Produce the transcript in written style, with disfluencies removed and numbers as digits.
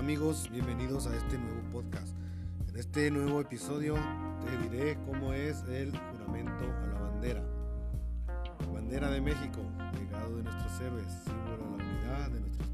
amigos, bienvenidos a este nuevo podcast. En este nuevo episodio te diré cómo es el juramento a la bandera. Bandera de México, legado de nuestros héroes, símbolo de la unidad de nuestros